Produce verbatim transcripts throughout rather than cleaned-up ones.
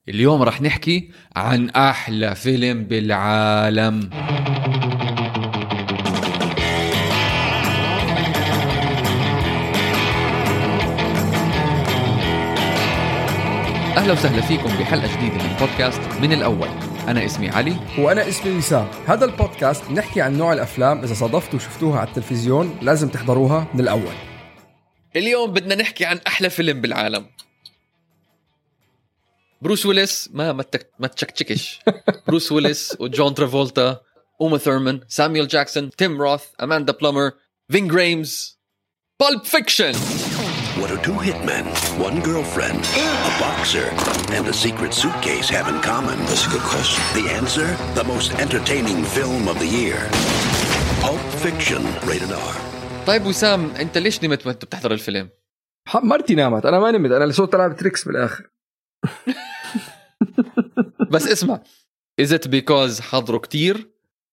اليوم رح نحكي عن أحلى فيلم بالعالم. أهلا وسهلا فيكم بحلقة جديدة من بودكاست من الأول. أنا اسمي علي وأنا اسمي وسام. هذا البودكاست نحكي عن نوع الأفلام إذا صادفتوا وشفتوها على التلفزيون لازم تحضروها من الأول. اليوم بدنا نحكي عن أحلى فيلم بالعالم. بروس ويلس ما ما تك... ما تشكشكش بروس ويلس وجون ترافولتا، أوما ثيرمان، سامويل جاكسون، تيم روث، أماندا بلومر، فين جريمز. Pulp Fiction. What do two hitmen, one girlfriend, a boxer, and a secret suitcase have in common? That's a good question. The answer? The most entertaining film of the year. Pulp Fiction, rated R. طيب وسام، أنت ليش نمت وأنت بتحضر الفيلم؟ مرتي نامت، أنا ما نمت، أنا اللي صوت ألعب تريكس بالآخر. بس اسمع، is it because حضروا كتير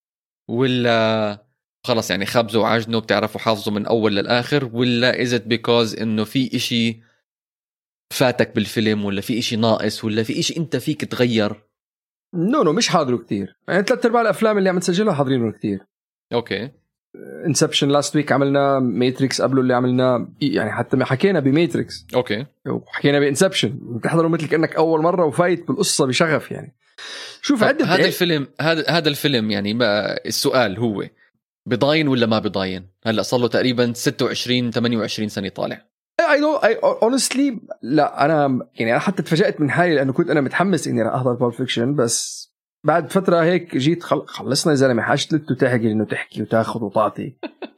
ولا خلص يعني خبزوا وعجنوا بتعرفوا حافظوا من أول للآخر، ولا is it because إنه في إشي فاتك بالفيلم، ولا في إشي ناقص، ولا في إشي أنت فيك تغير؟ نو نو مش حاضروا كتير، يعني ثلاث أرباع الأفلام اللي عم نسجلها حاضرينه كتير. أوكي. انسبشن لاست ويك عملنا، ماتريكس قبله اللي عملنا، يعني حتى ما حكينا بماتريكس. اوكي. وحكينا بانسبشن، بتحضروا مثل كأنك اول مره وفايت بالقصه بشغف. يعني شوف عدة هذا الفيلم هذا هذا الفيلم يعني ما السؤال هو بضاين ولا ما بضاين؟ هلا صار له تقريبا ستة وعشرين ثمانية وعشرين سنه طالع. اي نو اي اونستلي لا، انا يعني انا حتى تفاجأت من حالي لانه كنت انا متحمس اني راح احضر بول فيكشن، بس بعد فترة هيك جيت خل... خلصنا يا زلمة، حاجتلت وتحكي إنه تحكي وتاخذ وتعطي.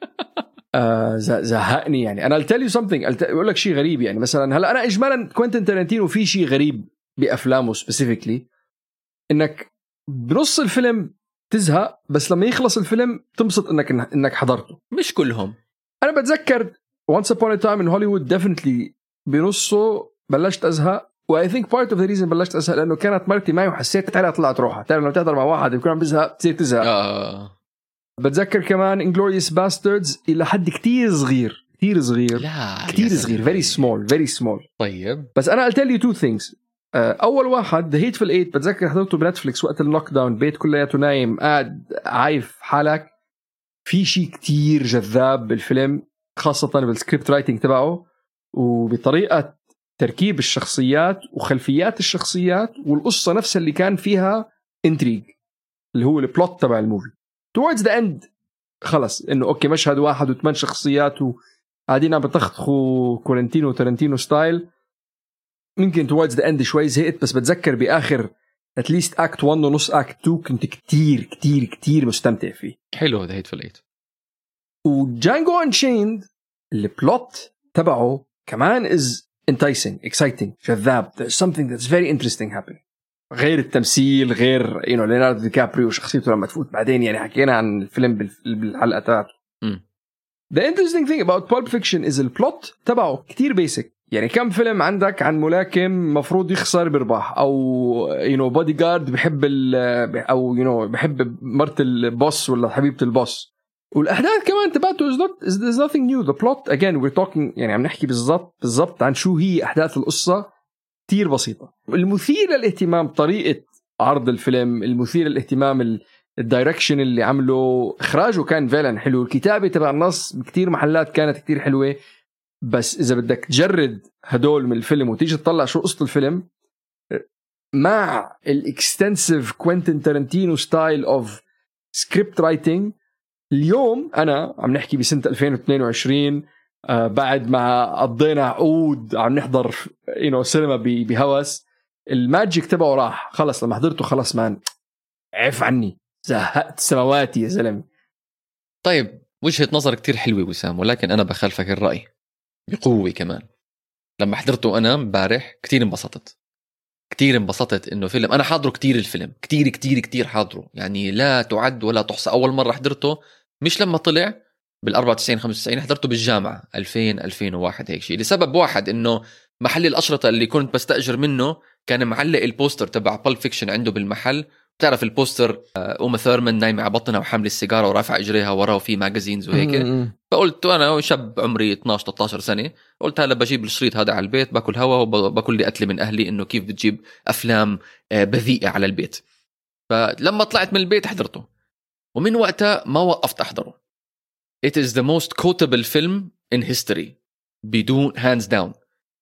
آه زهقني يعني. أنا I'll tell you something، أقول أقول لك شيء غريب. يعني مثلا هلا أنا إجمالا كوينتين تارانتينو في شيء غريب بأفلامه specifically، إنك بنص الفيلم تزهق، بس لما يخلص الفيلم تنبسط إنك إنك حضرته. مش كلهم. أنا بتذكر Once Upon a Time in Hollywood definitely بنصه بلشت أزهق، و I think part of the reason بلشت أزهق لأنه كانت مرتي معي وحسيت عليها طلعت روحها. تعرف لما تحضر مع واحد يكون عم بزهق تصير تزهق. آه. بتذكر كمان Inglourious Bastards إلى حد كتير صغير كتير صغير لا كتير صغير very small very small. طيب بس أنا I'll tell you two things. أول واحد The Hateful Eight، بتذكر حضرته بنتفليكس وقت اللوك داون، بيت كلياته نايم قاعد عايف حالك. في شيء كتير جذاب بالفيلم، خاصة بالسكريبت رايتنج تبعه وبطريقة تركيب الشخصيات وخلفيات الشخصيات والقصة نفسها اللي كان فيها انتريج، اللي هو البلوت تبع الموفي. towards the end خلص انه اوكي مشهد واحد وثمان شخصيات وقاعدين عم بتخطخوا كورنتينو وتارنتينو ستايل. ممكن towards the end شوي زهقت، بس بتذكر باخر at least act one ونص act two كنت كتير كتير كتير مستمتع فيه. حلو The Hateful Eight. وجانجو أنشيند البلوت تبعه كمان is enticing exciting جذاب. there's something that's very interesting happening. غير التمثيل، غير you know ليوناردو دي كابريو وشخصيته لما تفوت بعدين. يعني حكينا عن الفيلم بالحلقة تاعته. the interesting thing about Pulp Fiction is البلوت تبعه كتير basic. يعني كم فيلم عندك عن ملاكم مفروض يخسر برباح، أو you know bodyguard بحب ال أو you know بحب مرت البوس ولا حبيبة البوس. والأحداث كمان تبعته is not is there's nothing new. the plot again we're talking يعني عم نحكي بالضبط بالضبط عن شو هي أحداث القصة، كتير بسيطة. المثير للاهتمام طريقة عرض الفيلم، المثير للاهتمام الدايركشن اللي عمله، إخراجه كان فعلا حلو، الكتابة تبع النص بكتير محلات كانت كتير حلوة. بس إذا بدك تجرد هدول من الفيلم وتيجي تطلع شو قصة الفيلم مع الاكستنسيف كوينتين تارانتينو ستايل اوف سكريبت رايتنج. اليوم أنا عم نحكي بسنة ألفين واثنين وعشرين، آه بعد ما قضينا عقود عم نحضر ينو سينما بهوس، الماجيك تبعه راح خلص. لما حضرته خلص مان عف عني، زهقت سماواتي يا زلمة. طيب وجهة نظر كتير حلوة وسام، ولكن أنا بخالفك الرأي بقوة كمان. لما حضرته أنا مبارح كتير انبسطت كتير انبسطت إنه فيلم أنا حاضره كتير. الفيلم كتير كتير كتير حاضره، يعني لا تعد ولا تحصى. أول مرة حضرته مش لما طلع بالأربعة وتسعين خمسة وتسعين، حضرته بالجامعة ألفين ألفين وواحد هيك شيء، لسبب واحد إنه محل الأشرطة اللي كنت بستأجر منه كان معلق البوستر تبع Pulp Fiction عنده بالمحل، تعرف البوستر أم ثيرمان نايمة على بطنها وحامل السيجارة ورافع إجريها وراه وفي ماجازينز وهيك. فقلت أنا شاب عمري اثناشر ثلاثة عشر سنة، قلت هلا بجيب الشريط هذا على البيت، باكل هوا وباكل لي قتل من أهلي إنه كيف بتجيب أفلام بذيئة على البيت. فلما طلعت من البيت حضرته، ومن وقتها ما وقفت أحضره. It is the most quotable film in history بدون hands down.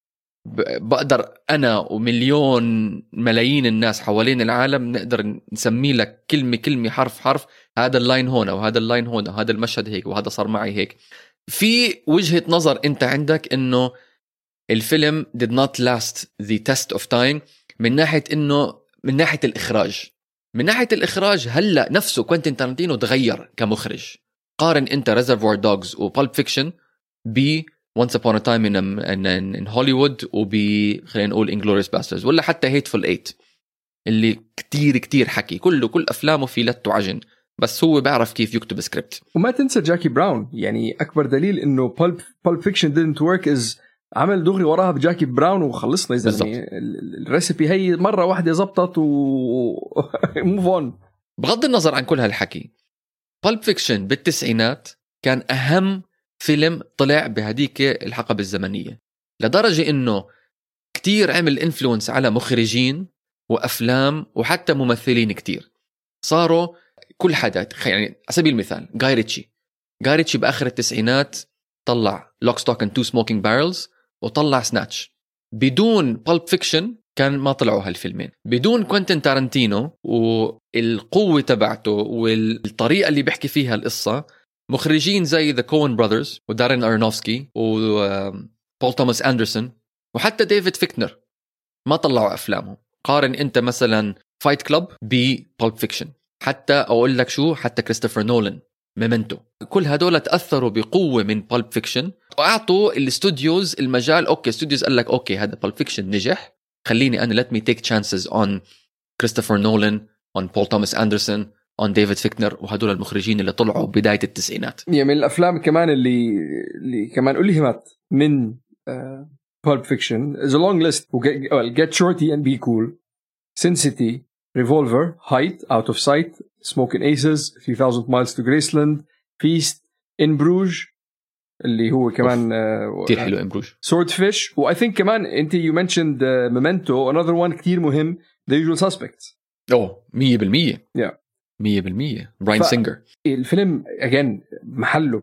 بقدر أنا ومليون ملايين الناس حوالين العالم نقدر نسمي لك كلمة كلمة حرف حرف، هذا اللاين هنا وهذا اللاين هنا وهذا المشهد هيك وهذا صار معي هيك. في وجهة نظر أنت عندك إنه الفيلم did not last the test of time من ناحية إنه من ناحية الإخراج. من ناحية الإخراج هلأ نفسه كوينتين تارانتينو تغير كمخرج. قارن أنت Reservoir Dogs و Pulp Fiction ب Once Upon a Time in, in, in Hollywood وب خلينا نقول Inglourious Basterds ولا حتى Hateful Eight اللي كتير كتير حكي، كله كل أفلامه في لت وعجن، بس هو بيعرف كيف يكتب سكريبت. وما تنسى جاكي براون، يعني أكبر دليل إنه Pulp, Pulp Fiction didn't work is عمل دغري وراها بجاكي براون وخلصنا. إذا يعني الريسيبي هي مرة واحدة زبطت و move on. بغض النظر عن كل هالحكي، Pulp Fiction بالتسعينات كان أهم فيلم طلع بهديك الحقبة الزمنية، لدرجة إنه كتير عمل إنفلونس على مخرجين وأفلام وحتى ممثلين كتير. صاروا كل حدا يعني على سبيل المثال غاي ريتشي غاي ريتشي بآخر التسعينات طلع Lock, Stock and Two Smoking Barrels وطلع سناتش. بدون Pulp Fiction كان ما طلعوا هالفيلمين. بدون كوينتين تارانتينو والقوة تبعته والطريقة اللي بيحكي فيها القصة، مخرجين زي The Coen Brothers ودارين أرنوفسكي وبول توماس أندرسون وحتى ديفيد فيكنر ما طلعوا أفلامهم. قارن أنت مثلا فايت كلاب ببولب فيكشن، حتى أقول لك شو، حتى كريستوفر نولان ميمنتو، كل هدول تأثروا بقوة من بولب فيكشن وأعطوا الاستوديوز المجال. أوكي استوديوز قال لك أوكي هذا بولب فيكشن نجح، خليني أنا let me take chances on كريستوفر نولان on بول توماس أندرسون on ديفيد فيكنر وهدول المخرجين اللي طلعوا بداية التسعينات. يعني من الأفلام كمان اللي اللي كمان ألهمت من Pulp Fiction is a long list. well, Get Shorty and Be Cool, Sin City, Revolver, Height, Out of Sight, Smoking Aces, three thousand Miles to Graceland, Feast, In Bruges اللي هو كمان كتير حلو In Bruges, Swordfish. و I think كمان أنت you mentioned uh, Memento, another one كتير مهم, The Usual Suspects. أوه مية بالمية yeah. مية بالمية براين سينجر. الفيلم again محله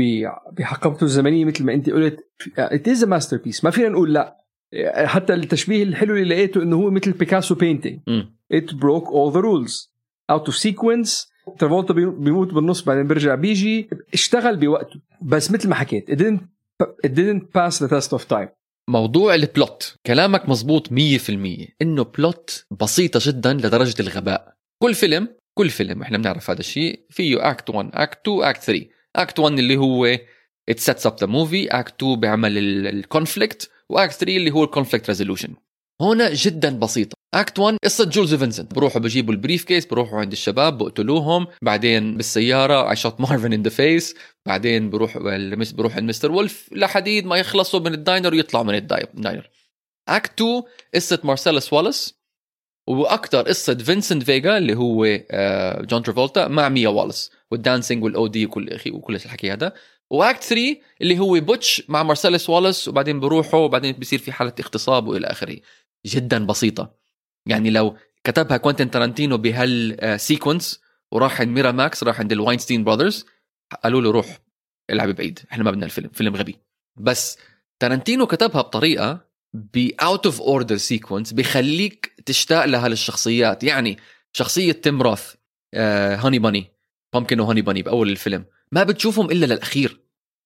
بحقبته الزمنية مثل ما أنت قلت it is a masterpiece، ما فينا نقول لا. حتى التشبيه الحلو اللي لقيته إنه هو مثل بيكاسو painting. م. it broke all the rules out of sequence. ترافولتا بيموت بالنص بعدين بيرجع بيجي، اشتغل بوقته، بس مثل ما حكيت it didn't, it didn't pass the test of time. موضوع البلوت كلامك مزبوط مية في المية، إنه بلوت بسيطة جدا لدرجة الغباء. كل فيلم كل فيلم إحنا بنعرف هذا الشيء فيه act one act two act three. act one اللي هو it sets up the movie, act two بيعمل الكونفليكت، و act three اللي هو الكونفليكت resolution. هنا جدا بسيطة. act one قصة جولز فينسنت، بروحوا بجيبوا البريف كيس، بروحوا عند الشباب بقتلوهم، بعدين بالسيارة I shot Marvin in the face، بعدين بروح بروح عند مستر وولف لحديد ما يخلصوا من الداينر ويطلعوا من الداينر. act two قصة مارسيلوس والاس، وأكتر قصة فينسنت فيغا اللي هو جون ترافولتا مع ميا واليس والدانسينج والأودي وكل أخي وكل الحكي هذا. وأكت ثري اللي هو بوتش مع مارسيلوس والاس، وبعدين بروحوا وبعدين بيصير في حالة اغتصاب وإلى آخره. جدا بسيطة. يعني لو كتبها كوينتين تارانتينو بهالسيكونس وراح عند ميرا ماكس، راح عند الواينستين براذرز، قالوا له روح العب بعيد، احنا ما بدنا الفيلم، فيلم غبي. بس تارانتينو كتبها بطريقة بأوت اوف اوردر سيكونس بيخليك تشتاق لها للشخصيات. يعني شخصية تيم روث آه هاني باني بامكن وهاني باني بأول الفيلم ما بتشوفهم إلا للأخير،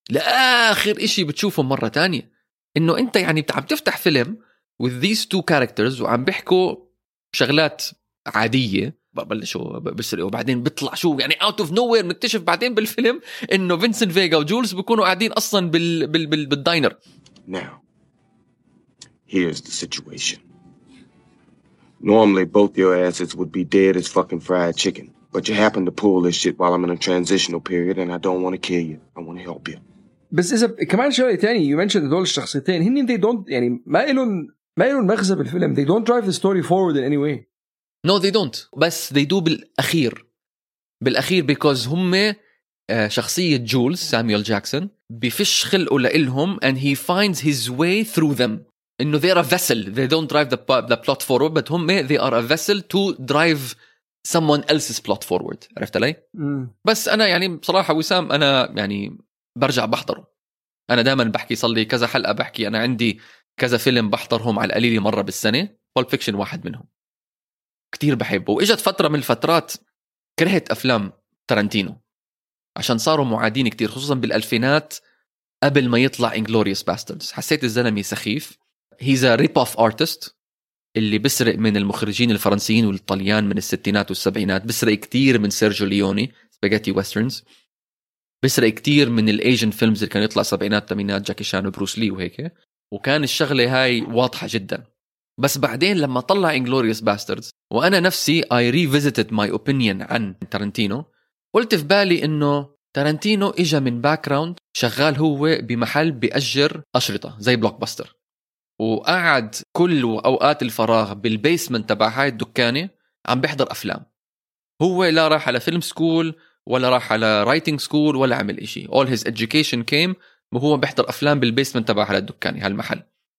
لآخر إشي بتشوفهم مرة تانية. إنه أنت يعني عم تفتح فيلم with these two characters وعم بيحكوا شغلات عادية، ببلشوا بسرقوا وبعدين بيطلع شو يعني out of nowhere نكتشف بعدين بالفيلم إنه فينسنت فيغا وجولز بيكونوا قاعدين أصلا بال بال بال بالداينر. Now here's the situation. Normally both your asses would be dead as fucking fried chicken, but you happen to pull this shit while I'm in a transitional period and I don't want to kill you. I want to help you. بس إذا كمان شغلة تاني you mentioned دول الشخصيتين هني they don't يعني ما إلهم ما إلهم مغزى بالفيلم. They don't drive the story forward in any way. no they don't بس they do بالأخير بالأخير because هم شخصية جولز سامويل جاكسون بفش خلقه لإلهم and he finds his way through them إنه they are a vessel they don't drive the, the plot forward but هم they are a vessel to drive someone else's plot forward. عرفت علي؟ م. بس أنا يعني بصراحة وسام أنا يعني برجع بحضره. أنا دائما بحكي صلي كذا حلقة بحكي أنا عندي كذا فيلم بحضرهم على القليل مرة بالسنة. Pulp Fiction واحد منهم كتير بحبه. وإجت فترة من الفترات كرهت أفلام تارانتينو عشان صاروا معادين كتير خصوصا بالألفينات قبل ما يطلع Inglourious Basterds. حسيت الزلمة سخيف. He's a rip-off artist اللي بسرق من المخرجين الفرنسيين والإيطاليان من الستينات والسبعينات. بسرق كتير من سيرجيو ليوني سباجيتي ويسترنز. بسرق كتير من الأيجن فيلمز اللي كان يطلع سبعينات تمانينات جاكي شان وبروس لي وهيك. وكان الشغلة هاي واضحة جدا. بس بعدين لما طلع Inglourious Basterds وأنا نفسي I revisited my opinion عن تارانتينو قلت في بالي إنه تارانتينو إجا من باكراوند شغال هو بمحل بيأجر أشرطة زي بلوك باستر وقعد كل أوقات الفراغ بالبيسمنت تبع هاي الدكانة عم بيحضر أفلام. هو لا راح على فيلم سكول ولا راح على رايتنج سكول ولا عمل إشي. all his education came وهو بيحضر أفلام بالبيسمنت تبع هاي الدكانة هالمحل.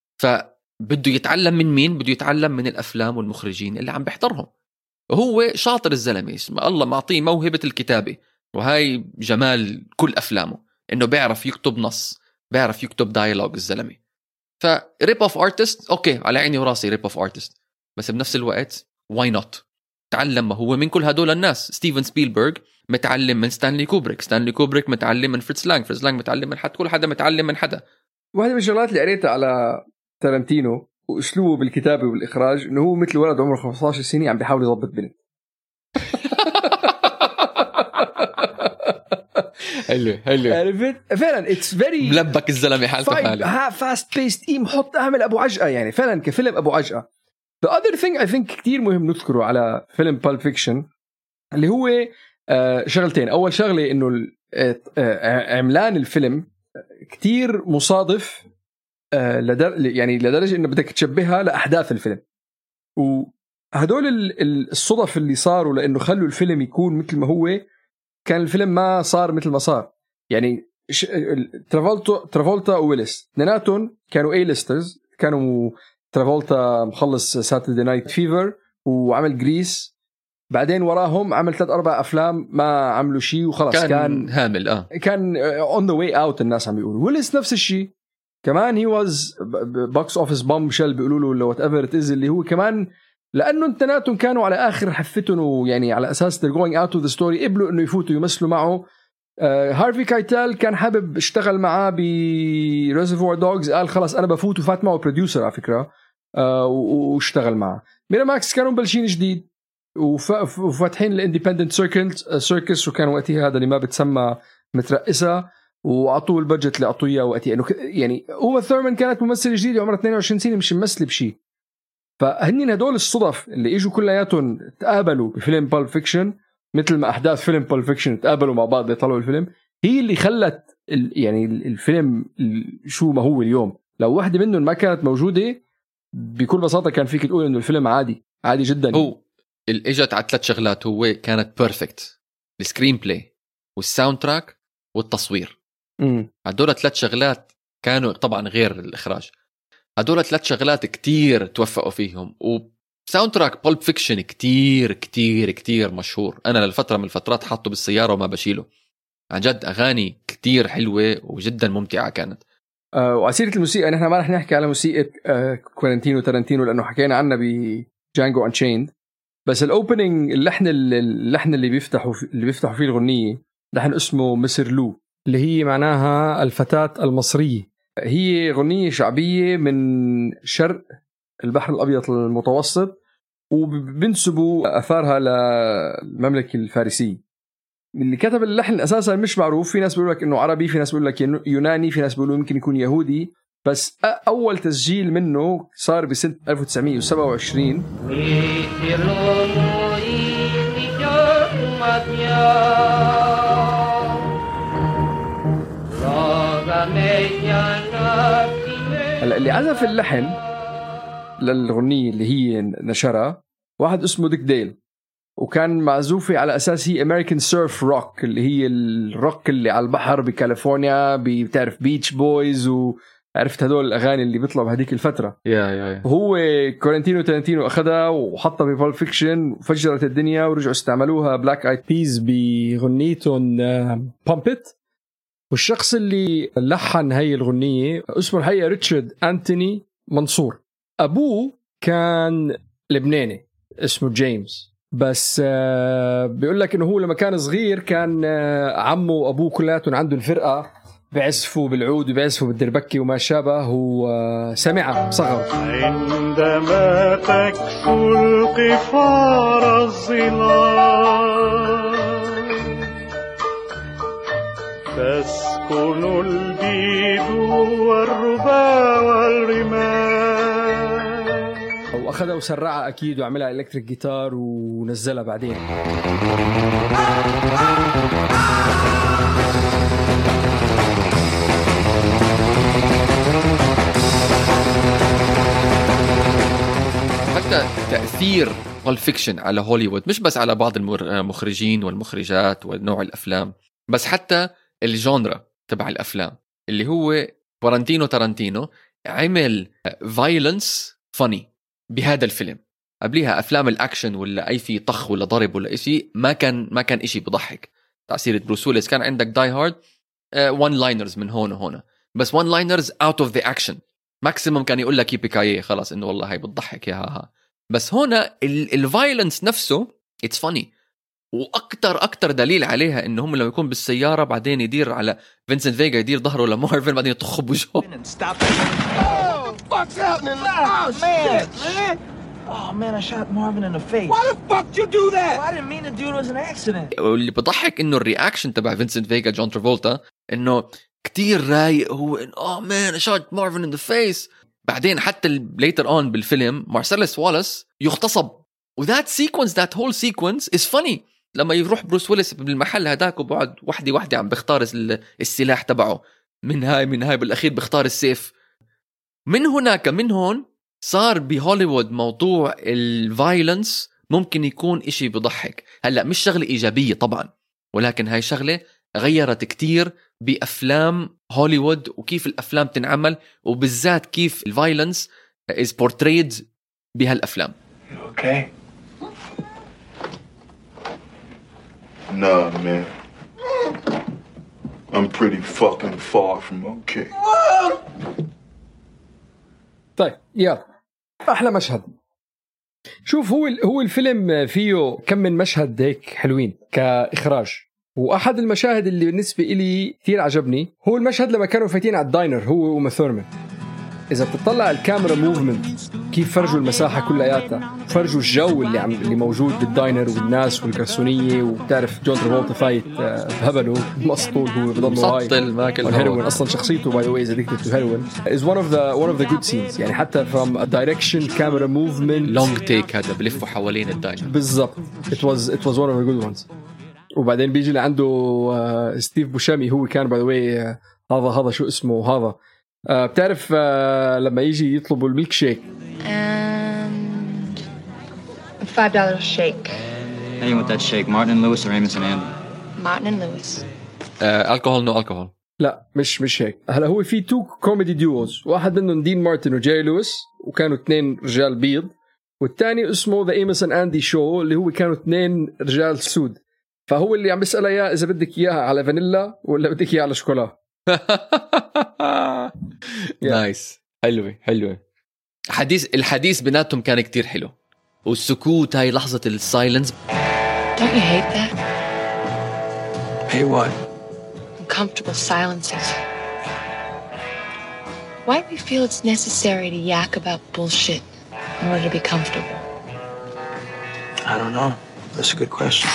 فبده يتعلم من مين؟ بده يتعلم من الأفلام والمخرجين اللي عم بيحضرهم. وهو شاطر الزلمة الله معطيه موهبة الكتابة وهاي جمال كل أفلامه إنه بيعرف يكتب نص بيعرف يكتب دايلوج الزلمة. فريب اوف ارتست اوكي على عيني وراسي ريب اوف ارتست بس بنفس الوقت واي نوت تعلم ما هو من كل هدول الناس. ستيفن سبيلبرغ متعلم من ستانلي كوبريك ستانلي كوبريك متعلم من فريتز لانغ فريتز لانغ متعلم من حد كل حدا متعلم من حدا. واحدة من الشغلات اللي قريتها على تارانتينو واسلوبه بالكتابة والإخراج إنه هو مثل ولد عمره خمسة عشر سنة عم بيحاول يضبط بنت. حلو حلو عرفت فعلا اتس فيري ملبك الزلمه حالته حاله ها فاست بيست ايم حط اعمل ابو عجقه يعني فعلا كفيلم ابو عجقه. the other thing I think كتير مهم نذكره على فيلم Pulp Fiction اللي هو آه شغلتين. اول شغله انه آه عملان الفيلم كتير مصادف آه لدر يعني لدرجه انه بدك تشبهها لاحداث الفيلم. وهدول الصدف اللي صاروا لانه خلوا الفيلم يكون مثل ما هو كان الفيلم ما صار مثل ما صار. يعني ش... ترافولتا ترافولتا وويلس اثنيناتهم كانوا اي ليسترز. كانوا ترافولتا مخلص ساتردي نايت فيفر وعمل جريس بعدين وراهم عمل ثلاث اربع افلام ما عملوا شيء وخلص كان, كان هامل اه كان اون ذا واي اوت. الناس عم بيقولوا ويلس نفس الشيء كمان هي واز بوكس اوفيس بوم شل بيقولوا له وات ايفر ات از اللي هو كمان لأنه انتناتهم كانوا على آخر حفتهم ويعني على أساس they're going out of the story قبلوا إنه يفوتوا يمثلوا معه. آه هارفي كايتال كان حابب اشتغل معاه بريزرفوار دوغز قال خلاص أنا بفوت وفات معه بروديوسر على فكرة آه واشتغل معه. ميراماكس كانوا مبلشين جديد وف... وفاتحين الانديبندنت سيركس وكانوا وقتها هذا اللي ما بتسمى مترقسة وعطوا البادجت اللي عطوه إياه وقتها إنه يعني هو ثورمان كانت ممثل جديد عمره اثنين وعشرين سنة مش ممثل بشيء. فهنين هدول الصدف اللي اجوا كلياتهم تقابلوا بفيلم Pulp Fiction مثل ما احداث فيلم Pulp Fiction تقابلوا مع بعض يطلعوا الفيلم هي اللي خلت يعني الفيلم شو ما هو اليوم. لو واحدة منهم ما كانت موجودة بكل بساطة كان فيك تقول انه الفيلم عادي عادي جدا. هو اجت على ثلاث شغلات هو كانت بيرفكت السكرين بلاي والساوند تراك والتصوير. امم هدول ثلاث شغلات كانوا طبعا غير الاخراج. هدول ثلاث شغلات كتير توفقوا فيهم. وساوند تراك Pulp Fiction كتير كتير كتير مشهور. أنا للفترة من الفترات حاطه بالسيارة وما بشيله عن جد. أغاني كتير حلوة وجدا ممتعة كانت. آه وعسيرة الموسيقى نحن ما رح نحكي على موسيقى آه كوارنتينو تارانتينو لأنه حكينا عنها بجانجو أنشيند. بس الأوبننج اللحن اللحن اللي بيفتحوا اللي بيفتحوا فيه الغنية لحن اسمه مسر لو اللي هي معناها الفتاة المصرية. هي غنية شعبية من شرق البحر الأبيض المتوسط وبنسبوا أثارها للمملكة الفارسية. اللي كتب اللحن أساسا مش معروف. في ناس بيقول لك إنه عربي في ناس بيقول لك يوناني في ناس بيقولوا يمكن يكون يهودي. بس أول تسجيل منه صار بسنة ألف وتسعمية وسبعة وعشرين. هلا اللي عزف اللحن للغنية اللي هي نشرها واحد اسمه ديك ديل، وكان معزوفة على أساس هي أمريكان سيرف روك اللي هي الروك اللي على البحر بكاليفورنيا، بتعرف بيتش بويز وعرفت هدول الأغاني اللي بيطلعوا بهديك الفترة. يا يا يا هو كورنتينو تارانتينو أخذها وحطها ببول فيكشن وفجرت الدنيا، ورجعوا استعملوها بلاك آيد بيز بغنيتهم بامبيت. والشخص اللي لحن هاي الغنية اسمه الحقيقة ريتشارد أنتوني منصور. أبوه كان لبناني اسمه جيمس، بس بيقول لك إنه هو لما كان صغير كان عمه وأبوه كلاتهم عندهم فرقة بيعزفوا بالعود وبيعزفوا بالدربكة وما شابه، وسمعها صغر. عندما تكسو القفار الظلال تسكن البيد والربا والرمال. واخذها وسرعها اكيد وعملها الكتريك جيتار ونزلها بعدين. حتى تأثير والفيكشن على هوليوود مش بس على بعض المخرجين والمخرجات ونوع الأفلام، بس حتى الجانرا تبع الأفلام. اللي هو كورنتينو تارانتينو عمل فايلنس فاني بهذا الفيلم. قبليها أفلام الأكشن ولا أي في طخ ولا ضرب ولا إشي ما كان ما كان إشي بضحك. تعسيرة بروس ويلس كان عندك داي هارد وان لاينرز من هون وهنا، بس وان لاينرز اوت اوف ذا اكشن. ماكسيمم كان يقول لك يبيكايه خلاص انه والله هاي بتضحك يا ها ها. بس هنا الفايلنس نفسه اتس فاني. واكتر اكتر دليل عليها انه هم لما يكون بالسياره بعدين يدير على فينسنت فيجا يدير ظهره لمارفن بعدين يطخ بوجهه. Oh man, I shot Marvin in the face. Why the fuck you do that? Well, I didn't mean to do it. It was an accident. واللي بضحك انه الرياكشن تبع فينسنت فيجا جون ترافولتا انه كتير رايق، هو انه oh man I shot Marvin in the face. بعدين حتى later on بالفيلم مارسيلس والاس يغتصب، وذات سيكونس ذات هول سيكونس is funny. لما يروح بروس ويلس بالمحل هداك وبعد وحدي وحدي عم بيختار السلاح تبعه، من هاي من هاي بالاخير بيختار السيف. من هناك من هون صار بهوليوود موضوع الفايلنس ممكن يكون إشي بضحك. هلأ مش شغلة إيجابية طبعا، ولكن هاي شغلة غيرت كتير بأفلام هوليوود وكيف الأفلام تنعمل، وبالذات كيف الفايلنس is portrayed بهالأفلام. Okay. Nah, man. I'm pretty fucking far from okay. طيب يلا احلى مشهد. شوف هو هو الفيلم فيه كم من مشهد هيك حلوين كاخراج، واحد المشاهد اللي بالنسبه لي كثير عجبني هو المشهد لما كانوا فايتين على الداينر هو وما ثورمان. اذا بتطلع الكاميرا موفمنت كيف فرجوا المساحه كلياتها، فرجوا الجو اللي عم اللي موجود بالداينر والناس والكرسونيه، وبتعرف جون ترافولتا فايت بهبله مسطول، هو بضل مسطل ماكل هيروين اصلا شخصيته باي ذا واي از ادكتد تو هيروين is one of the one of the good scenes. يعني حتى from a direction camera movement long take هذا بلفوا حوالين الداينر بالضبط. it was it was one of the good ones. وبعدين بيجي لعنده ستيف بوشامي، هو كان باي ذا واي هذا هذا شو اسمه هذا Uh, بتعرف uh, لما يجي يطلبوا الميلك شيك and five dollar shake. Anyone with that shake, Martin and Lewis or Amos and Andy? Martin and Lewis. الكحول نو الكحول. لا مش مش هيك. هلا هو في تو كوميدي ديوز، واحد منهم دين مارتن وجاي لويس وكانوا اثنين رجال بيض، والثاني اسمه ذا ايموس اند اندي شو اللي هو كانوا اثنين رجال سود. فهو اللي عم بيسأله اياه اذا بدك اياها على فانيلا ولا بدك اياها على شوكولا. نايس. حلوة حلوة. حديث الحديث بيناتهم كان كتير حلو، والسكوت هاي لحظة السايلنس. Don't you hate that? Hey, what? Uncomfortable silences. Why do we feel it's necessary to yak about bullshit in order to be comfortable? I don't know. That's a good question.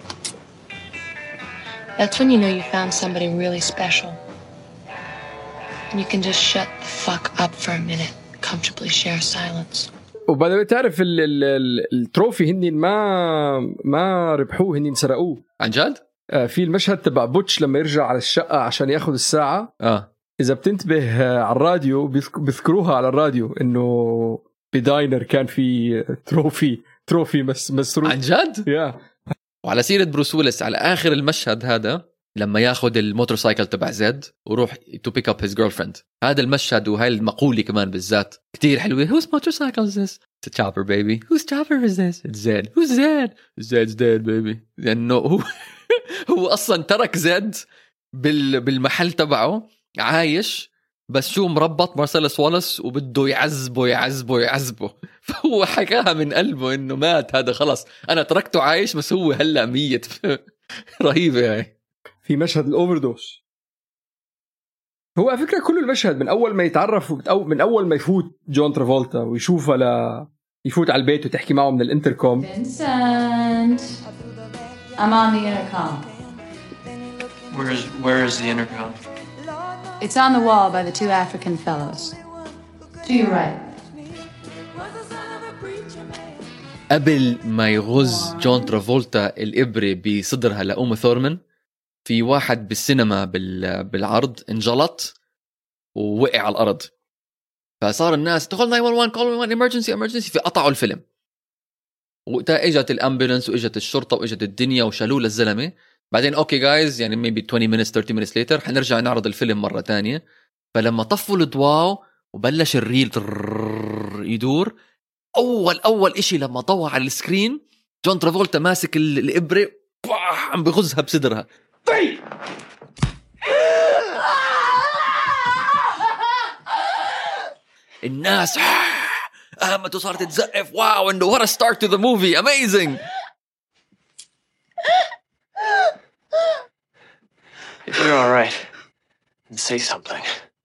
That's when you know you found somebody really special. And you can just shut the fuck up for a minute, comfortably share silence. وبعدين تعرف ال ال ال التروفي هني ما ما ربحوه، هني سرقوه عن جد. آه في المشهد تبع بوتش لما يرجع على الشقة عشان ياخذ الساعة. اه إذا بتنتبه آه على الراديو بيذكروها على الراديو إنه بداينر كان في تروفي تروفي مس مسروق عن جد. يا وعلى سيرة بروس ويلس، على آخر المشهد هذا لما ياخد الموتورسايكل تبع زد وروح to pick up his girlfriend، هذا المشهد وهاي المقولة كمان بالذات كتير حلوة. whose motorcycle is this? It's a chopper baby. whose chopper is this? It's Zed. who's Zed? Zed's dead baby. لأنه هو هو أصلا ترك زد بال بالمحل تبعه عايش، بس شو مربط مارسيلوس والاس وبده يعذبه يعذبه يعذبه فهو حكاها من قلبه إنه مات هذا خلص، أنا تركته عايش بس هو هلأ ميت. رهيبة هاي. في مشهد الأوفردوس، هو على فكرة كل المشهد من أول ما يتعرف من أول ما يفوت جون ترافولتا ويشوفها لا يفوت على البيت وتحكي معه من الانتركوم. Vincent, I'm on the intercom. Where is where is the intercom? It's on the wall by the two African fellows. To your right. قبل ما يغز جون ترافولتا الإبرة بصدرها لأم ثورمان، في واحد بالسينما بالعرض انجلط ووقع على الأرض، فصار الناس تقول ناين وان وان call ناين وان وان emergency emergency، في قطعوا الفيلم. وقتها اجت الامبولانس واجت الشرطة واجت الدنيا وشالوه للزلمة. بعدين اوكي جايز يعني maybe twenty minutes thirty minutes later حنرجع نعرض الفيلم مرة تانية. فلما طفوا الضوء وبلش الريل يدور، اول اول اشي لما ضوى على السكرين جون ترافولتا ماسك الإبرة عم بغزها بصدرها. الناس قامت وصارت تزقف واو انه what a start to the movie amazing. If you're all right, say something.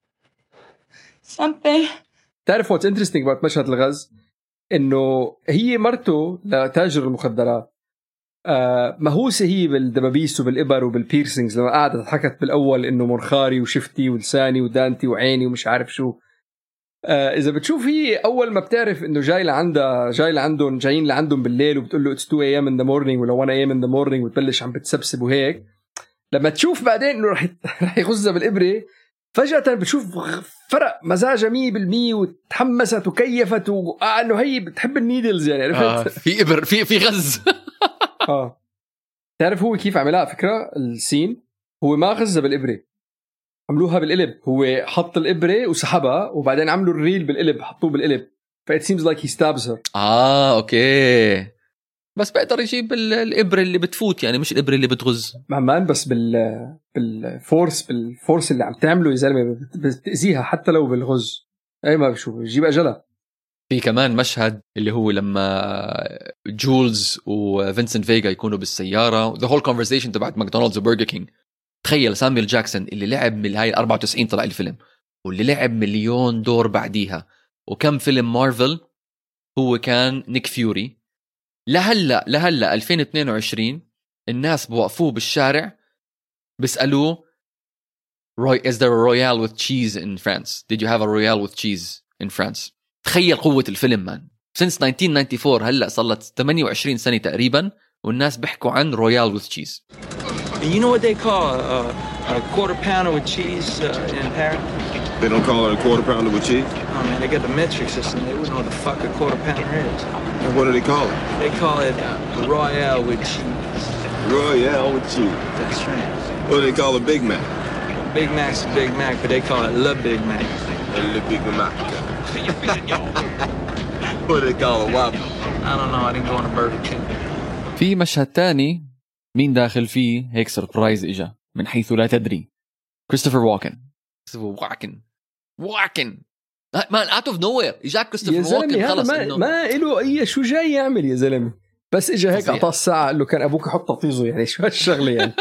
Something. تعرف what's interesting about مشهد الغاز؟ إنه هي مرته لتاجر المخدرات آه مهوسة هي بالدبابيس وبالإبر وبالبيرسينجز، لما قاعدة حكت بالأول إنه منخاري وشفتي ولساني ودانتي وعيني ومش عارف شو. آه إذا بتشوف هي أول ما بتعرف إنه جاي لعندها جاي لعندهم جايين لعندهم بالليل وبتقول له it's two a m in the morning ولا one a m in the morning وتبلش عم بتسبسب وهيك، لما تشوف بعدين إنه رح رح يغزها بالإبرة فجأة بتشوف فرق مزاجها مية بالمية وتحمست وكيفت وإنه هي بتحب النيدلز يعني عرفت. آه في إبر في في غز. آه تعرف هو كيف عملها فكرة السين؟ هو ما غزها بالإبرة، عملوها بالقلب. هو حط الإبرة وسحبها وبعدين عملوا الريل بالقلب حطوه بالقلب، ف it seems like he stabs her. آه أوكي، بس بقدر يجيب الإبرة اللي بتفوت يعني مش الإبرة اللي بتغز مهمان، بس بال بالفورس بالفورس اللي عم تعمله يا زلمة بتأذيها حتى لو بالغز. أي ما بشوف يجيب أجلها. في كمان مشهد اللي هو لما جولز وفينسنت فيغا يكونوا بالسيارة the whole conversation تبعت ماكدونالدز وبرجر كينج. تخيل سامويل جاكسون اللي لعب من هاي أربعة وتسعين طلع الفيلم واللي لعب مليون دور بعديها وكم فيلم مارفل، هو كان نيك فيوري. لهلا لهلا ألفين واثنين وعشرين الناس بوقفوه بالشارع بيسألوه is there a royale with cheese in France? Did you have a royale with cheese in France? تخيل قوة الفيلم مان. since nineteen ninety-four هلا صارت ثمانية وعشرين سنة تقريبا والناس بيحكوا عن royale with cheese. You know what they call a, a quarter pounder with cheese uh, in Paris? They don't call it a quarter pounder with cheese? Oh man, they got the metric system. They wouldn't know what the fuck a quarter pounder is. And what do they call it? They call it uh, Royale with cheese. Royale with cheese. That's right. What do they call a Big Mac? Big Mac's a Big Mac, but they call it Le Big Mac. Le Big Mac. What do they call a Whopper? I don't know. I didn't go on a Burger King. في مشهد تاني مين داخل فيه هيك سربرايز إجا من حيث لا تدري. كريستوفر واكن. واكن واكن مان out of nowhere إجاك كريستوفر واكن خلص ما, إنه ما إله أي شو جاي يعمل يا زلمة، بس إجا هيك أعطاه الساعة قال له كان أبوك يحط تطيزه يعني شو هالشغلة يعني.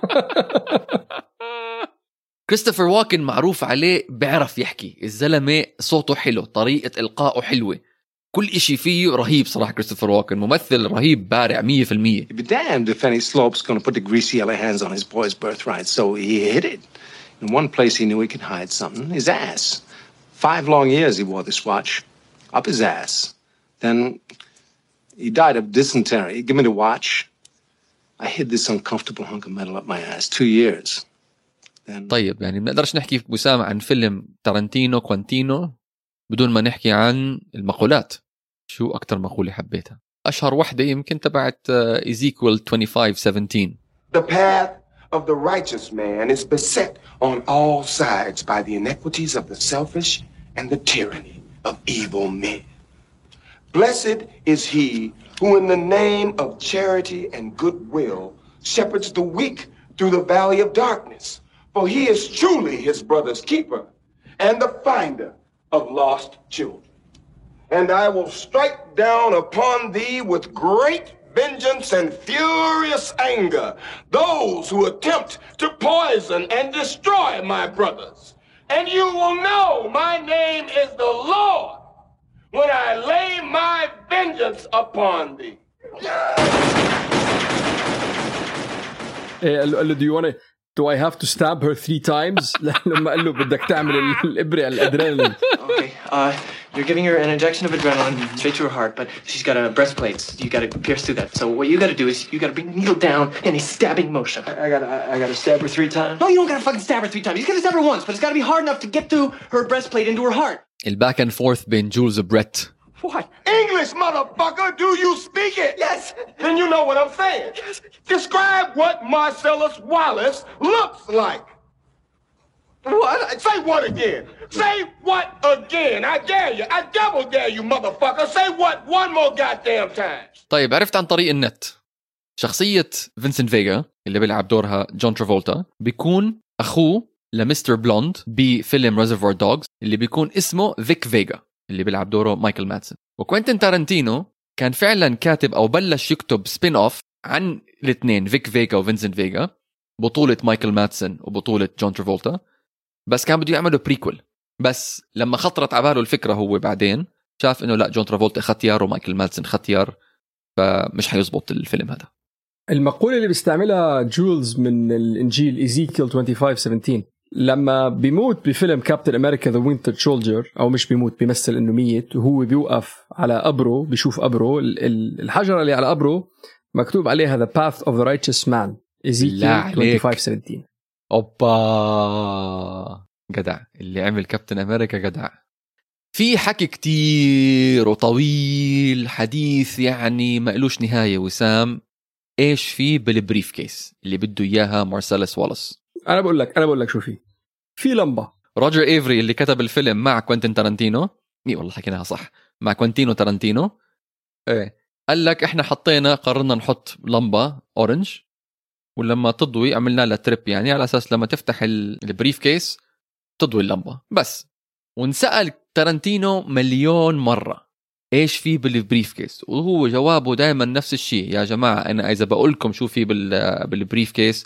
كريستوفر واكن معروف عليه بيعرف يحكي، الزلمة صوته حلو، طريقة إلقائه حلوة، كل إشي فيه رهيب صراحة. كريستوفر واكن ممثل رهيب بارع مية في المية. You'd be damned if any slope's going to put the greasy yellow hands on his boy's birthright, so he hid it. In one place he knew he could hide something, his ass. Five long years he wore this watch up his ass. Then he died of dysentery. Give me the watch. I hid this uncomfortable hunk of metal up my ass two years. Then... طيب يعني بنقدرش نحكي وسام عن فيلم تارانتينو كوانتينو بدون ما نحكي عن المقولات. شو أكتر مقولة حبيتها؟ أشهر وحدة يمكن تبعت إيزيكويل twenty-five seventeen. The path of the righteous man is beset on all sides by the inequities of the selfish and the tyranny of evil men. Blessed is he who in the name of charity and goodwill shepherds the weak through the valley of darkness, for he is truly his brother's keeper and the finder of lost children. And I will strike down upon thee with great vengeance and furious anger those who attempt to poison and destroy my brothers. And you will know my name is the Lord when I lay my vengeance upon thee. إيه قال له do you wanna do I have to stab her three times لما قال له بدك تعمل الإبرة على الأدرينالين. Okay, uh, you're giving her an injection of adrenaline straight to her heart, but she's got a breastplate. You got to pierce through that. So what you got to do is you got to bring the needle down in a stabbing motion. I, I got I, I got to stab her three times. No, you don't got to fucking stab her three times. You got to stab her once, but it's got to be hard enough to get through her breastplate into her heart. الباك and forth بين جولز وبريت. What? English, motherfucker, do you speak it? Yes. Then you know what I'm saying. Yes. Describe what Marcellus Wallace looks like. What? Say what again? Say what again? I dare you. I double dare you, motherfucker. Say what one more goddamn time. طيب عرفت عن طريق النت شخصية فينسنت فيغا اللي بيلعب دورها جون ترافولتا بيكون أخوه لمستر بلوند بفيلم ريزرفوار دوغز اللي بيكون اسمه فيك فيغا اللي بيلعب دوره مايكل مادسون. وكوينتين تارانتينو كان فعلا كاتب أو بلش يكتب سبين أوف عن الاثنين فيك فيغا وفينسنت فيغا بطولة مايكل مادسون وبطولة جون ترافولتا، بس كان بده يعملوا بريكول. بس لما خطرت على باله الفكرة هو بعدين شاف إنه لا جون ترافولتا ختيار ومايكل مادسون ختيار، فمش حيزبط الفيلم هذا. المقولة اللي بيستعملها جولز من الإنجيل إيزيكيل twenty-five seventeen لما بيموت بفيلم كابتن أمريكا ذا وينتر سولجر، أو مش بيموت بيمثل إنه ميت، وهو بيوقف على قبره بيشوف قبره الحجرة اللي على قبره مكتوب عليها The Path of the Righteous Man إيزيكيل twenty-five seventeen. أوبا جدع اللي عمل كابتن أمريكا جدع. في حكي كتير وطويل حديث يعني ما قلوش نهاية. وسام إيش فيه بالبريف كيس اللي بده إياها مارسيلس والاس؟ أنا بقول لك أنا بقول لك شو فيه. في لمبة. روجر إيفري اللي كتب الفيلم مع كوينتين تارانتينو، إيه والله حكيناها صح، مع كوينتينو تارانتينو، إيه قال لك إحنا حطينا قررنا نحط لمبة أورنج ولما تضوي عملنا لها تريب، يعني على أساس لما تفتح البريف كيس تضوي اللمبة بس. ونسأل تارانتينو مليون مرة إيش فيه بالبريف كيس، وهو جوابه دائما نفس الشيء، يا جماعة أنا إذا بقولكم شو فيه بالبريف كيس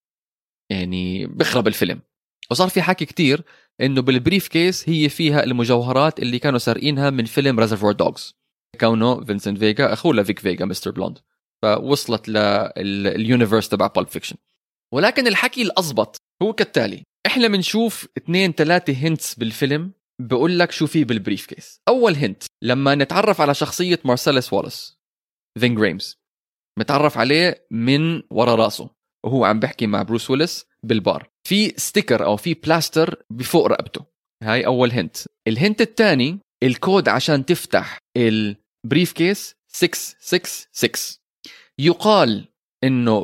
يعني بخرب الفيلم. وصار في حكي كتير إنه بالبريف كيس هي فيها المجوهرات اللي كانوا سارقينها من فيلم ريزرفوار دوغز، كونه فينسنت فيغا أخوه لفيك فيغا مستر بلوند، فوصلت لليونيفرس تبع بالب فيكشن. ولكن الحكي الأضبط هو كالتالي: إحنا بنشوف اثنين ثلاثة هنتس بالفيلم بقول لك شو فيه بالبريف كيس. أول هنت لما نتعرف على شخصية مارسيلس والاس فين جريمز، متعرف عليه من ورا راسه وهو عم بحكي مع بروس ويلس بالبار، في ستيكر أو في بلاستر بفوق رقبته. هاي أول هنت. الهنت الثاني الكود عشان تفتح البريف كيس ستة ستة ستة. يقال إنه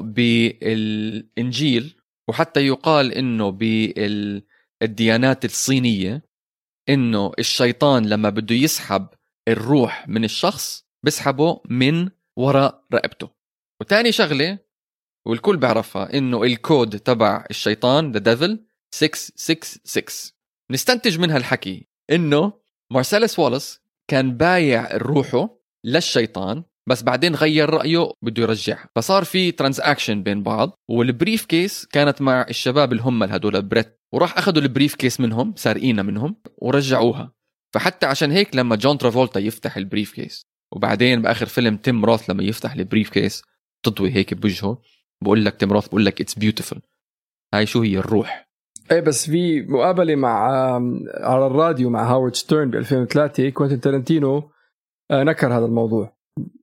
بالإنجيل وحتى يقال إنه بالديانات الصينية إنه الشيطان لما بده يسحب الروح من الشخص بسحبه من وراء رقبته. وتاني شغلة والكل بعرفها إنه الكود تبع الشيطان the devil ستة ستة ستة. نستنتج منها الحكي إنه مارسيلس والاس كان بايع روحه للشيطان، بس بعدين غير رأيه بده يرجعها، فصار في ترانزاكشن بين بعض. والبريف كيس كانت مع الشباب اللي هم هدول بريت، وراح أخذوا البريف كيس منهم سارقينها منهم ورجعوها. فحتى عشان هيك لما جون ترافولتا يفتح البريف كيس وبعدين بآخر فيلم تيم روث لما يفتح البريف كيس تضوي هيك بوجهه، بقول لك تيم روث بقول لك it's beautiful. هاي شو هي الروح. ايه بس في مقابلة مع على الراديو مع هاورد ستيرن ب ألفين وثلاثة كوينتين تارانتينو نكر هذا الموضوع.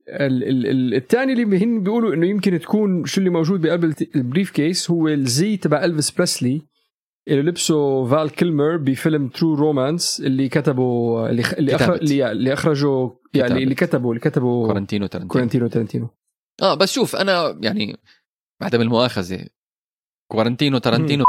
الثاني اللي هن بيقولوا انه يمكن تكون شو اللي موجود بقلب البريف كيس هو الزي تبع إلفيس بريسلي اللي لبسه فال كيلمر بفيلم ترو رومانس اللي كتبه اللي اللي, أخرج اللي, اللي اخرجه يعني اللي كتبوا اللي كتبوا كورنتينو تارنتينو كورنتينو تارنتينو اه بس شوف انا يعني بعدم المؤاخذه كورنتينو تارنتينو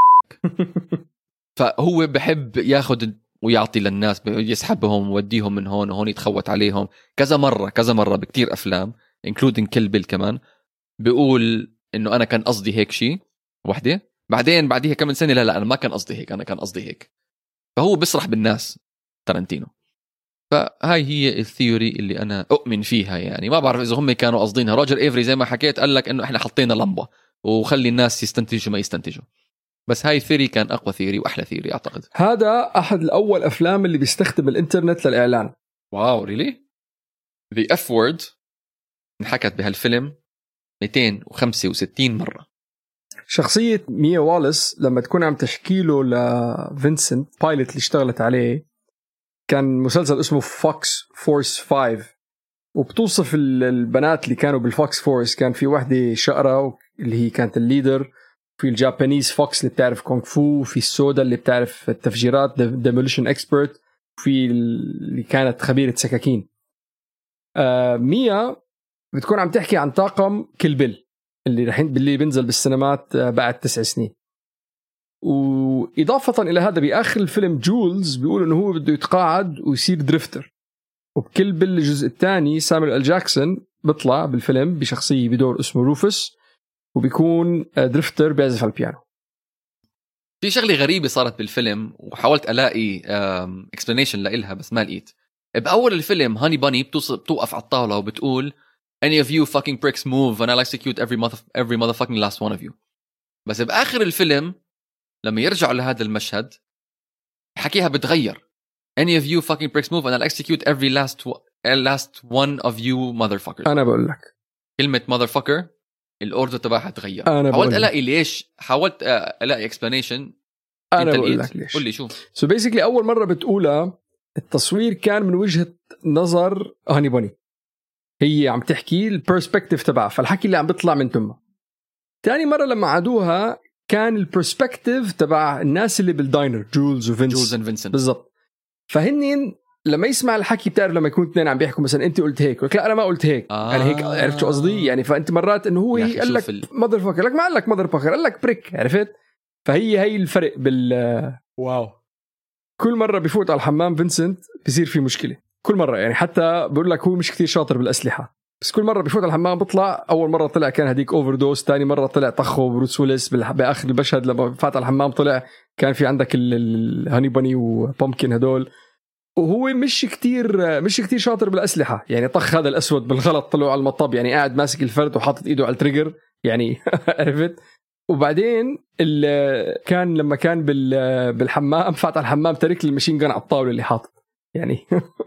فهو بحب ياخد ويعطي للناس، يسحبهم ووديهم من هون وهون، يتخوت عليهم كذا مرة كذا مرة بكتير أفلام including كيل بيل كمان، بيقول إنه أنا كان قصدي هيك شيء وحدة، بعدين بعديها كم سنة لا لا أنا ما كان قصدي هيك، أنا كان قصدي هيك. فهو بيسرح بالناس تارنتينو. فهاي هي الثيوري اللي أنا أؤمن فيها، يعني ما بعرف إذا هم كانوا قصدينها. روجر إيفري زي ما حكيت قال لك إنه إحنا حطينا لمبة وخلي الناس يستنتجوا ما يستنتجوا، بس هاي الثيري كان أقوى ثيري وأحلى ثيري أعتقد. هذا أحد الأول أفلام اللي بيستخدم الإنترنت للإعلان. واو ريلي؟ The F word انحكت بهالفيلم مئتين وخمسة وستين مرة. شخصية ميا واليس لما تكون عم تحكيله لفينسنت بايلوت اللي اشتغلت عليه، كان مسلسل اسمه فوكس فورس فايف، وبتوصف البنات اللي كانوا بالفوكس فورس. كان في واحدة شقرة اللي هي كانت الليدر، في الجابانيز فوكس اللي بتعرف كونغ فو، في السودا اللي بتعرف التفجيرات ديموليشن اكسبرت، في اللي كانت خبيرة سكاكين. آه ميا بتكون عم تحكي عن طاقم كيل بيل اللي رحين باللي بينزل بالسينمات بعد تسع سنين. وإضافة إلى هذا بآخر الفيلم جولز بيقول إنه هو بده يتقاعد ويصير دريفتر. وبكل بيل الجزء الثاني سامويل إل جاكسون بيطلع بالفيلم بشخصية بدور اسمه روفوس، وبيكون دريفتر بيعزف على البيانو. في شغلة غريبة صارت بالفيلم وحاولت ألاقي explanation لإلها بس ما لقيت. بأول الفيلم هاني باني بتوقف على الطاولة وبتقول any of you fucking pricks move and I'll execute every mother every motherfucking last one of you. بس بآخر الفيلم لما يرجعوا لهذا المشهد حكيها بتغير any of you fucking pricks move and I'll execute every last last one of you motherfuckers. أنا بقول لك كلمة motherfucker الأوردر تبعها تغير. أنا حاولت ألاقي ليش، حاولت ألاقي explanation. أنا بقول لك ليش. قل لي شو. so basically أول مرة بتقولها التصوير كان من وجهة نظر هاني باني، هي عم تحكي البرسبكتيف تبعها، فالحكي اللي عم بيطلع من تمها. تاني مرة لما عادوها كان البرسبكتيف تبع الناس اللي بالداينر، جولز وفينس جولز اند فينسنت بالضبط. فهنين لما يسمع الحكي بتعرف لما يكون اثنين عم بيحكوا مثلا انت قلت هيك لا انا ما قلت هيك آه. انا هيك عرفت شو قصدي يعني. فانت مرات انه هو قال لك ال... ماذر فاكر لك ما قال لك ماذر فاكر قال لك بريك، عرفت؟ فهي هي الفرق بال واو. كل مرة بيفوت على الحمام فينسنت بيصير في مشكلة كل مرة، يعني حتى بقول لك هو مش كتير شاطر بالأسلحة، بس كل مرة بيفوت على الحمام بيطلع. أول مرة طلع كان هديك أوفر دوز، تاني مرة طلع طخه بروس ويلس بآخر المشهد لما فات على الحمام طلع كان في عندك الهاني باني وبومكن هدول. وهو مش كتير مش كتير شاطر بالأسلحة، يعني طخ هذا الأسود بالغلط طلعوا على المطب، يعني قاعد ماسك الفرد وحاطط إيده على التريجر يعني عرفت. وبعدين كان لما كان بالحمام فات على الحمام ترك المشين جن على الطاولة اللي حاطط يعني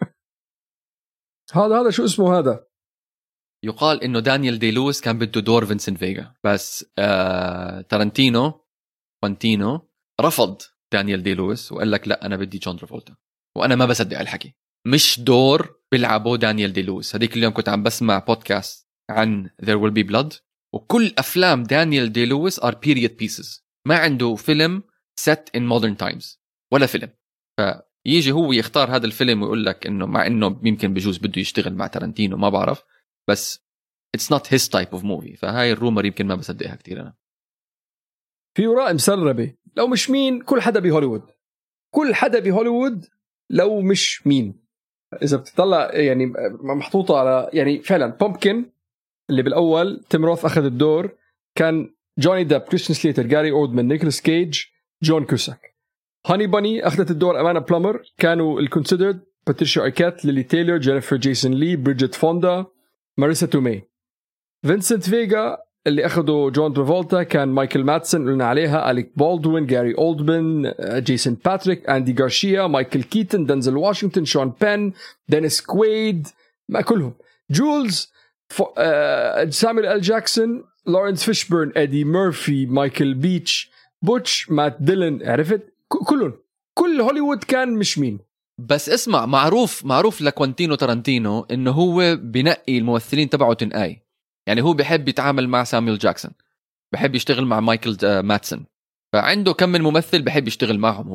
هذا هذا شو اسمه هذا. يقال إنه دانيال دي لويس كان بده دور فينسنت فيغا، بس آه تارنتينو كوانتينو رفض دانيال دي لويس وقال لك لا أنا بدي جون ترافولتا. وأنا ما بصدق الحكي، مش دور بيلعبه دانيال دي لويس. هذيك اليوم كنت عم بسمع بودكاست عن There Will Be Blood، وكل أفلام دانيال دي لويس are period pieces، ما عنده فيلم set in modern times ولا فيلم. فيجي هو يختار هذا الفيلم ويقول لك إنه مع إنه يمكن بجوز بده يشتغل مع تارنتينو ما بعرف، بس it's not his type of movie. فهاي الرومر يمكن ما بصدقها كتير أنا. في وراء مسربة لو مش مين كل حدا بهوليوود، كل حدا بهوليوود لو مش مين. إذا بتطلع يعني محطوطة على يعني فعلا بومبكن اللي بالأول تيم روث أخذ الدور، كان جوني ديب، كريستيان سليتر، جاري أوردمان، نيكولاس كيج، جون كوساك. هاني باني أخذت الدور أمانة بلومر، كانوا الكونسيدرد باتريشيا أركات، ليلي تايلور، جينيفر جيسون لي، بريدجيت فوندا، ماريسا تومي. فينسنت فيغا اللي أخذوا جون ترافولتا كان مايكل ماتسون قلنا عليها، أليك بالدوين، جاري أولدمان، جيسون باتريك، أندي غارشيا، مايكل كيتن، دنزل واشنطن، شون بين، دينيس كويد، ما كلهم. جولز، سامويل إل جاكسون، لورنس فيشبرن، إدي ميرفي، مايكل بيتش، بوتش، مات ديلن، عرفت كلهم. كل هوليوود كان مش مين. بس اسمع، معروف معروف لكوانتينو تارانتينو إنه هو بنقي الممثلين تبعه تنقاي. يعني هو بيحب يتعامل مع سامويل جاكسون، بيحب يشتغل مع مايكل ماتسون، فعنده كم من ممثل بيحب يشتغل معهم هو.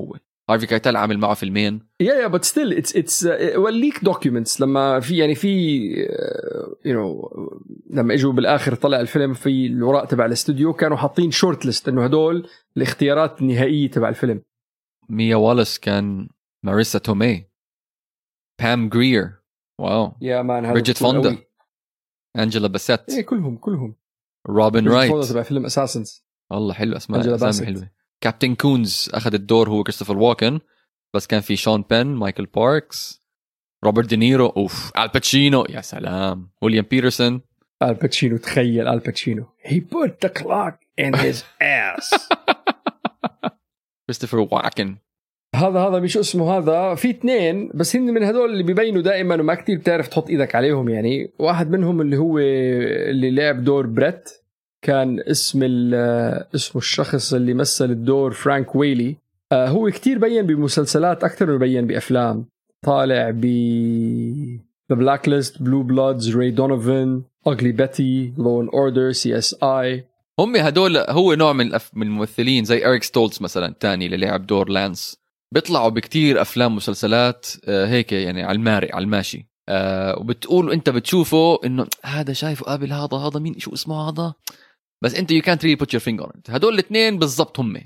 هارفي كايتل عامل معه فيلمين. يا يا but still it's it's وليك documents لما في يعني في you know لما اجوا بالاخر طلع الفيلم في الوراء تبع الاستوديو كانوا حاطين شورت ليست انه هدول الاختيارات النهائيه تبع الفيلم. ميا واليس كان، ماريسا تومي، بام غرير، واو يا مان هذا بريجيت فوندا، أنجيلا باسيت، ايه كلهم كلهم روبن رايت فوندا تبع فيلم اساسنز. والله حلو اسماء اسامي حلوه. كابتن كونز اخذ الدور هو كريستوفر واكن، بس كان في شون بين، مايكل باركس، روبرت دينيرو، اوف الباتشينو، يا سلام، ويليام بيترسون. الباتشينو، تخيل الباتشينو he put the clock in his ass. كريستوفر واكن هذا هذا مش اسمه، هذا في اثنين بس هن من هدول اللي بيبينوا دائما وما كتير بتعرف تحط ايدك عليهم. يعني واحد منهم اللي هو اللي لعب دور بريت، كان اسم اسمه الشخص اللي مثل الدور فرانك ويلي. آه هو كتير بين بمسلسلات أكتر من بين بأفلام. طالع ب The Blacklist, Blue Bloods, Ray Donovan, Ugly Betty, Law and Order, سي إس آي. هم هدول هو نوع من الأف... من الممثلين زي إريك ستولتز مثلا تاني اللي لعب دور لانس، بيطلعوا بكتير أفلام مسلسلات آه هيك يعني على الماري على الماشي، آه وبتقول أنت بتشوفه إنه هذا شايفه قابل هذا هذا مين شو اسمه هذا، بس انت you can't really put your finger on it. هدول الاثنين بالضبط هم.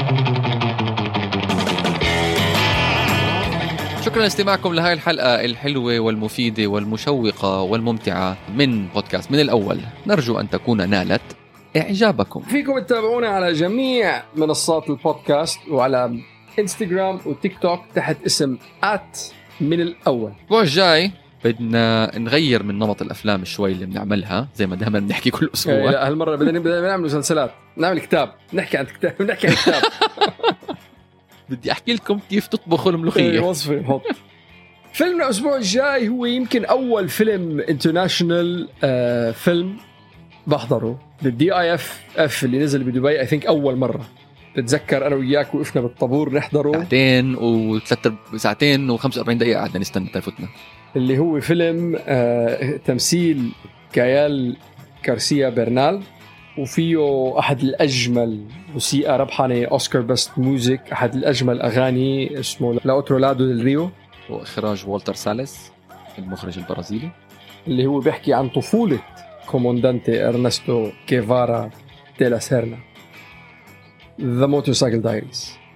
شكرا لاستماعكم لهاي الحلقة الحلوة والمفيدة والمشوقة والممتعة من بودكاست من الأول. نرجو أن تكون نالت إعجابكم. فيكم تتابعونا على جميع منصات البودكاست وعلى انستغرام وتيك توك تحت اسم آت من الأول. الأسبوع الجاي بدنا نغير من نمط الأفلام شوي اللي بنعملها زي ما دائما بنحكي كل أسبوع. لا هالمرة بدنا بدنا نعمل مسلسلات، نعمل كتاب، نحكي عن كتاب، نحكي عن كتاب. بدي أحكي لكم كيف تطبخوا الملوخية. وصفة حط. فيلمنا الأسبوع الجاي هو يمكن أول فيلم انترناشنال آه فيلم بحضره، الدي آي إف إف اللي نزل بدبي I think أول مرة. بتذكر أنا وياك وقفنا بالطابور نحضره ساعتين وثلاث ساعتين وخمسة وأربعين دقيقة قعدنا نستنى تفوتنا. اللي هو فيلم آه تمثيل كايال كارسيا برنال، وفيه أحد الأجمل موسيقى ربحانة أوسكار بست ميوزك، أحد الأجمل أغاني اسمه لا أوترو لادو ديل ريو، وإخراج والتر ساليس المخرج البرازيلي، اللي هو بيحكي عن طفولة كوموندانتي إرنستو كيفارا دي لا سيرنا. The Motorcycle Diaries.